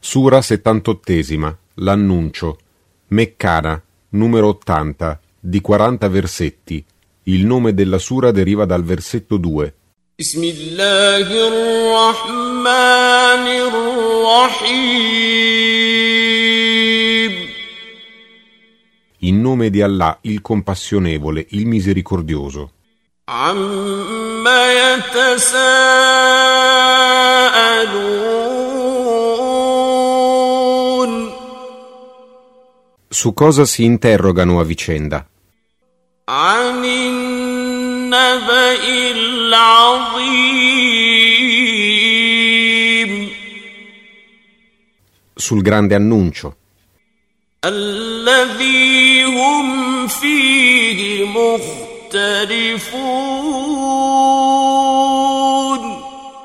Sura 78, l'annuncio, Meccana, numero 80, di 40 versetti. Il nome della sura deriva dal versetto 2. Bismillahirrahmanirrahim. In nome di Allah, il compassionevole, il misericordioso. Amma yatasaalun. Su cosa si interrogano a vicenda? Anin naba'il azim. Sul grande annuncio. Alladhi hum fihi mukhtalifun.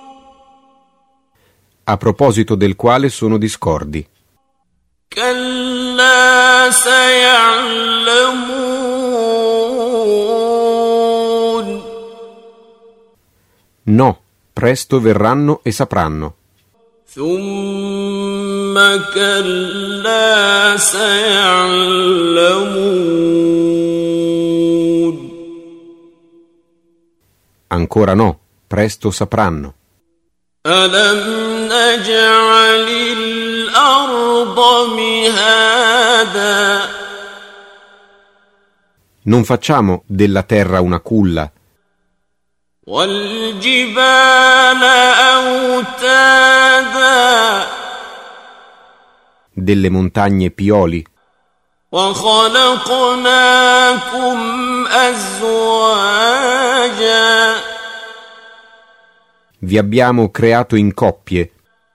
A proposito del quale sono discordi. Kalla saya'lamun. No, presto verranno e sapranno. Thumma kalla saya'lamun. Ancora no, presto sapranno. Alam naj'alil arda mihada. Non facciamo della terra una culla. Wal jibala awtada. Delle montagne pioli. Wa khalaqnakum azwaja. Vi abbiamo creato in coppie.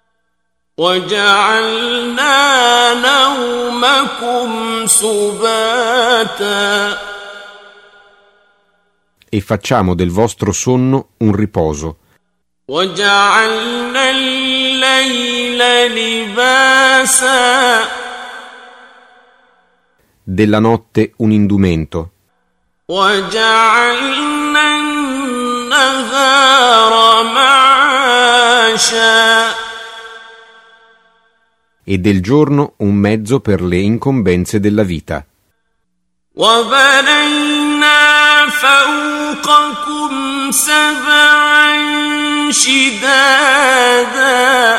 وَجَعَلْنَا نَوْمَكُمْ سُبَاتًا. E facciamo del vostro sonno un riposo. وَجَعَلْنَا اللَّيْلَ لِبَاسًا. Della notte un indumento. وَجَعَلْنَا النَّهَارَ مَعَاشًا. E del giorno un mezzo per le incombenze della vita. وَبَنَيْنَا فَوْقَكُمْ سَبْعًا شِدَادًا.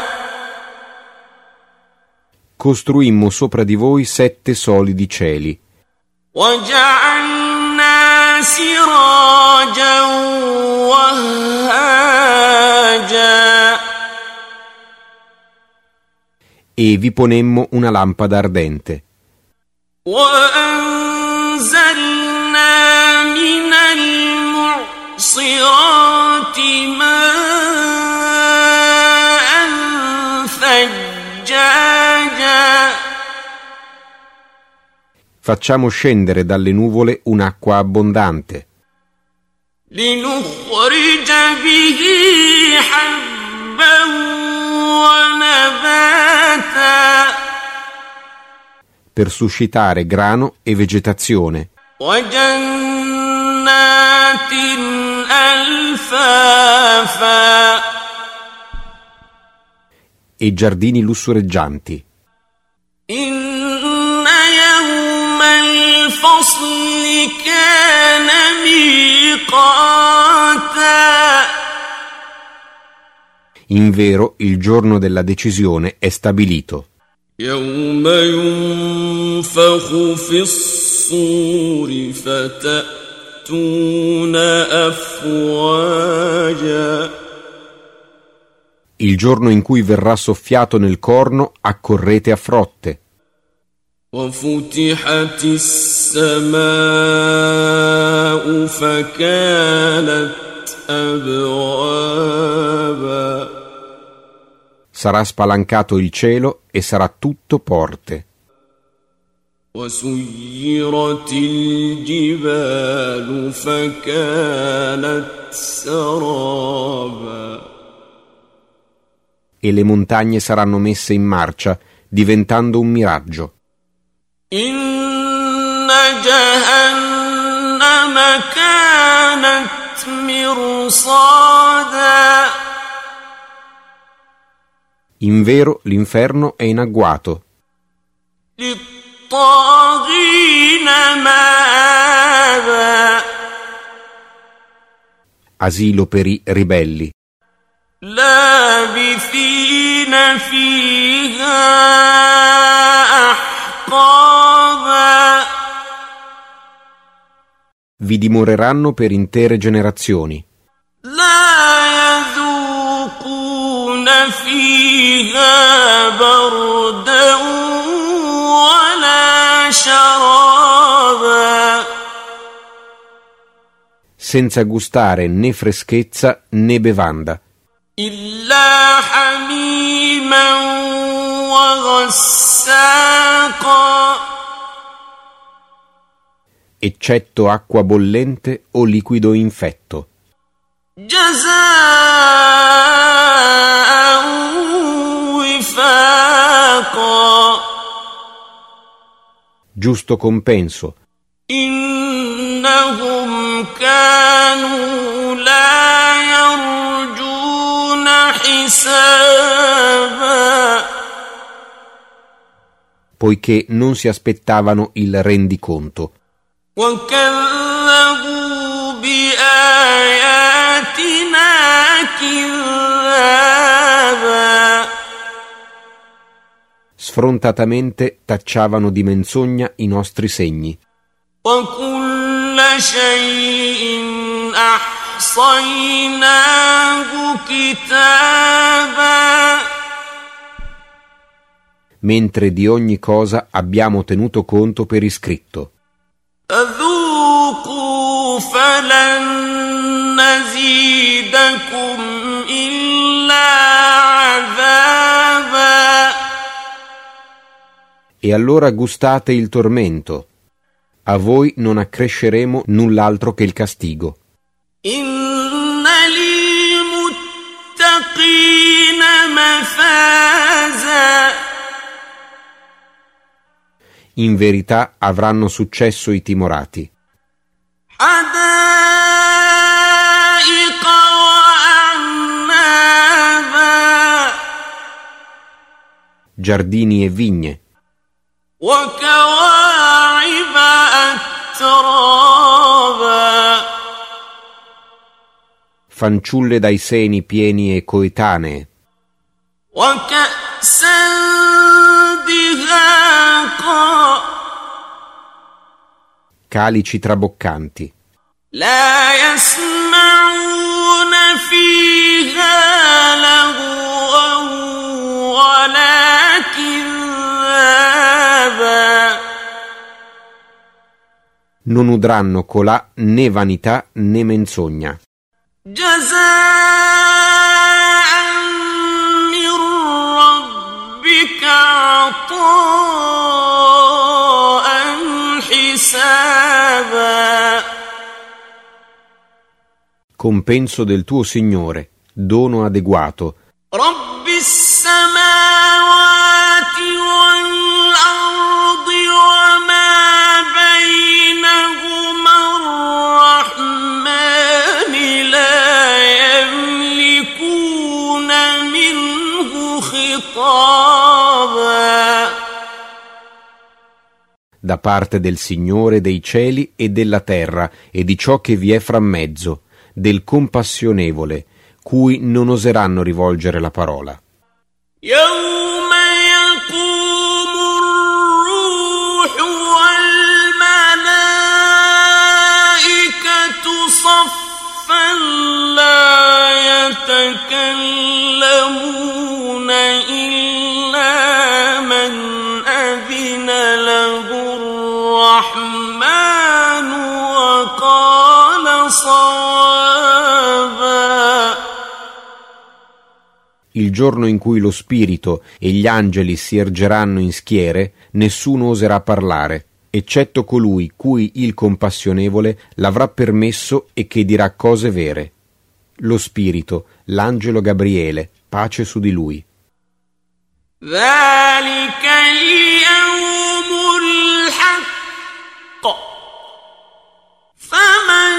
Costruimmo sopra di voi 7 solidi cieli. وَجَعَلْنَا سِرَاجًا وَهَّاجًا. E vi ponemmo una lampada ardente. وَأَنزَلْنَا مِنَ الْمُعْصِرَاتِ مَاءً ثَجَّاجًا. Facciamo scendere dalle nuvole un'acqua abbondante. لِنُخْرِجَ بِهِ حَبًّا وَنَبَاتًا. Per suscitare grano e vegetazione. وَجَنَّاتٍ أَلْفَافًا. E giardini lussureggianti. إِنَّ يَوْمَ الْفَصْلِ كَانَ مِيقَاتًا. In vero, il giorno della decisione è stabilito. يَوْمَ يُنفَخُ فِي الصُّورِ فَتَأْتُونَ أَفْوَاجًا. Il giorno in cui verrà soffiato nel corno, accorrete a frotte. وَفُتِحَتِ السَّمَاءُ فَكَانَتْ أَبْوَابًا. Sarà spalancato il cielo e sarà tutto porte. وَسُيِّرَتِ الْجِبَالُ فَكَانَتْ سَرَابًا. E le montagne saranno messe in marcia, diventando un miraggio. إِنَّ جَهَنَّمَ كَانَتْ مِرْصَادًا. Invero l'inferno è in agguato. للطاغين مآبا Asilo per i ribelli. لابثين فيها أحقابا Vi dimoreranno per intere generazioni. لا يذوقون فيها بردا ولا شرابا Senza gustare né freschezza né bevanda, إلا حميما وغساقا eccetto acqua bollente o liquido infetto, جزاء وفاقا giusto compenso, إنهم كانوا لا يرجون حسابا poiché non si aspettavano il rendiconto وكذبوا بآياتنا كذابا sfrontatamente tacciavano di menzogna i nostri segni. وكل شيء أحصيناه كتابا Mentre di ogni cosa abbiamo tenuto conto per iscritto. فذوقوا فلن نزيدكم إلا عذابا E allora gustate il tormento. A voi non accresceremo null'altro che il castigo. إن للمتقين مفازا In verità avranno successo i timorati. حدائق وأعنابا Giardini e vigne, وكواعب أترابا fanciulle dai seni pieni e coetanee, وكأسا دهاقا calici traboccanti, لا يسمعون فيها لغوا ولا كذابا non udranno colà né vanità né menzogna. جزاء من ربك عطاء حسابا Compenso del tuo Signore, dono adeguato, رب السماوات والأرض وما بينهما الرحمن لا يملكون منه خطابا da parte del Signore dei cieli e della terra e di ciò che vi è fra mezzo, del compassionevole, cui non oseranno rivolgere la parola. يوم يقوم الروح والملائكة صفا لا يتكلمون إلا من أذن له الرحمن وقال صوابا Il giorno in cui lo Spirito e gli angeli si ergeranno in schiere, nessuno oserà parlare, eccetto colui cui il compassionevole l'avrà permesso e che dirà cose vere. Lo Spirito, l'angelo Gabriele, pace su di lui. ذلك اليوم الحق فمن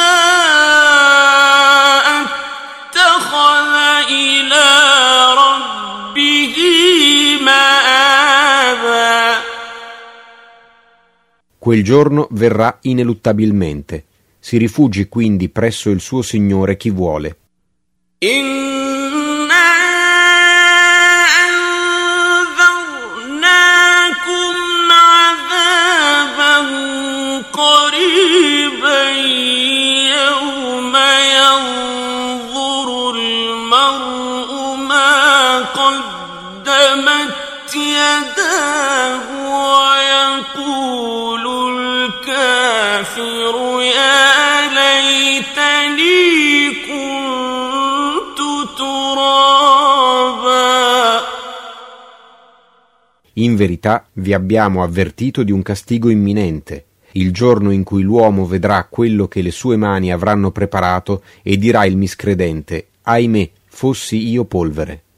شاء اتخذ إلى ربه Quel giorno verrà ineluttabilmente. Si rifugi quindi presso il suo Signore chi vuole. In verità vi abbiamo avvertito di un castigo imminente, il giorno in cui l'uomo vedrà quello che le sue mani avranno preparato e dirà il miscredente: ahimè, fossi io polvere.